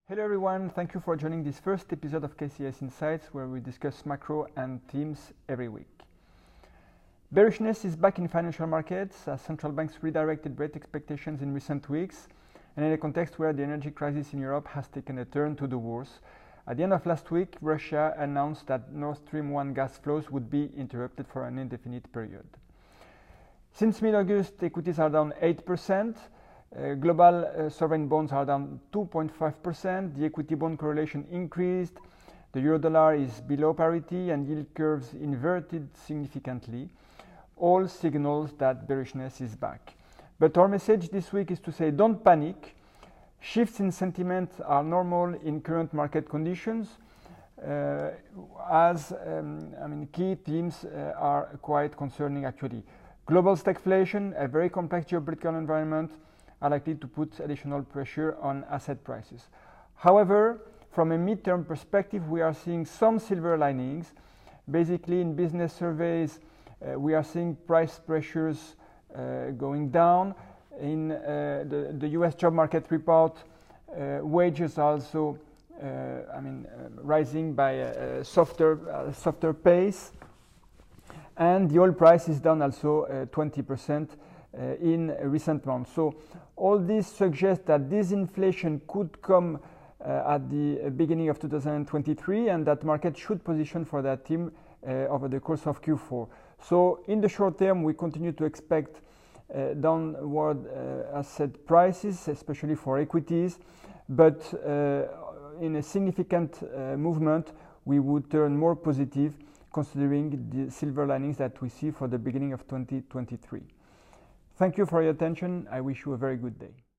Hello everyone, thank you for joining this first episode of KCS Insights, where we discuss macro and themes every week. Bearishness is back in financial markets as central banks redirected rate expectations in recent weeks, and in a context where the energy crisis in Europe has taken a turn to the worse. At the end of last week, Russia announced that Nord Stream 1 gas flows would be interrupted for an indefinite period. Since mid-August, equities are down 8%. Global sovereign bonds are down 2.5%. The equity bond correlation increased. The euro-dollar is below parity and yield curves inverted significantly. All signals that bearishness is back. But our message this week is to say don't panic. Shifts in sentiment are normal in current market conditions. Key themes are quite concerning actually. Global stagflation, a very complex geopolitical environment, are likely to put additional pressure on asset prices. However, from a mid-term perspective, we are seeing some silver linings. Basically, in business surveys, we are seeing price pressures going down. In the US job market report, wages are also rising by a softer pace. And the oil price is down also 20% in recent months. So all this suggests that disinflation could come at the beginning of 2023 and that market should position for that theme over the course of Q4. So in the short term, we continue to expect downward asset prices, especially for equities, but in a significant movement, we would turn more positive considering the silver linings that we see for the beginning of 2023. Thank you for your attention. I wish you a very good day.